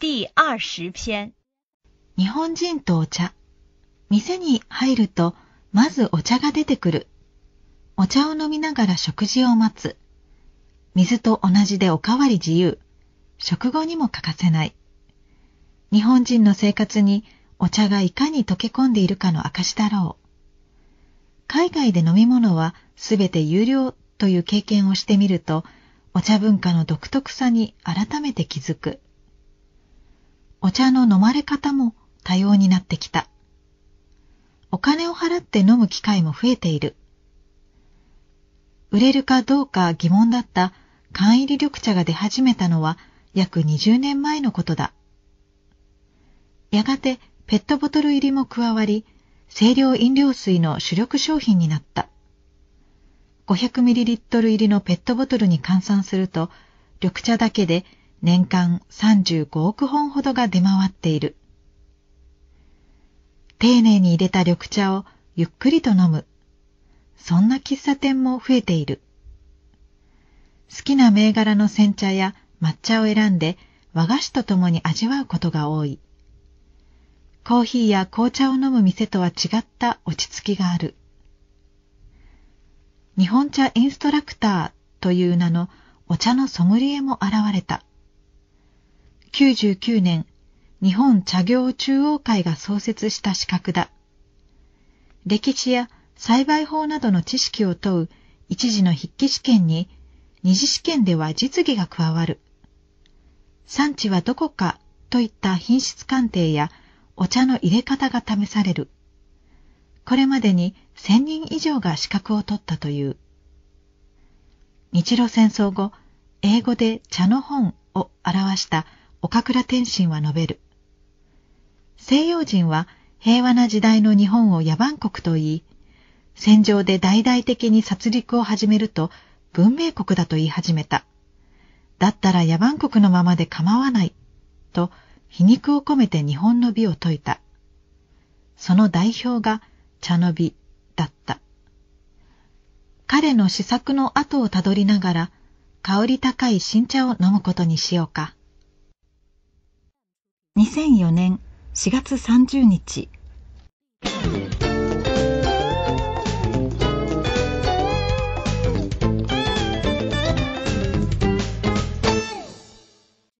第20篇。 日本人とお茶。店に入るとまずお茶が出てくる。お茶を飲みながら食事を待つ。水と同じでおかわり自由。食後にも欠かせない。日本人の生活にお茶がいかに溶け込んでいるかの証だろう。海外で飲み物はすべて有料という経験をしてみると、お茶文化の独特さに改めて気づく。お茶の飲まれ方も多様になってきた。お金を払って飲む機会も増えている。売れるかどうか疑問だった缶入り緑茶が出始めたのは約20年前のことだ。やがてペットボトル入りも加わり、清涼飲料水の主力商品になった。500ml 入りのペットボトルに換算すると、緑茶だけで年間35億本ほどが出回っている。丁寧に入れた緑茶をゆっくりと飲む。そんな喫茶店も増えている。好きな銘柄の煎茶や抹茶を選んで和菓子とともに味わうことが多い。コーヒーや紅茶を飲む店とは違った落ち着きがある。日本茶インストラクターという名のお茶のソムリエも現れた。99年、日本茶業中央会が創設した資格だ。歴史や栽培法などの知識を問う一次の筆記試験に、二次試験では実技が加わる。産地はどこかといった品質鑑定やお茶の入れ方が試される。これまでに1000人以上が資格を取ったという。日露戦争後、英語で茶の本を表した岡倉天心は述べる。西洋人は平和な時代の日本を野蛮国と言い、戦場で大々的に殺戮を始めると文明国だと言い始めた。だったら野蛮国のままで構わない、と皮肉を込めて日本の美を説いた。その代表が茶の美だった。彼の思索の後をたどりながら、香り高い新茶を飲むことにしようか。2004年4月30日。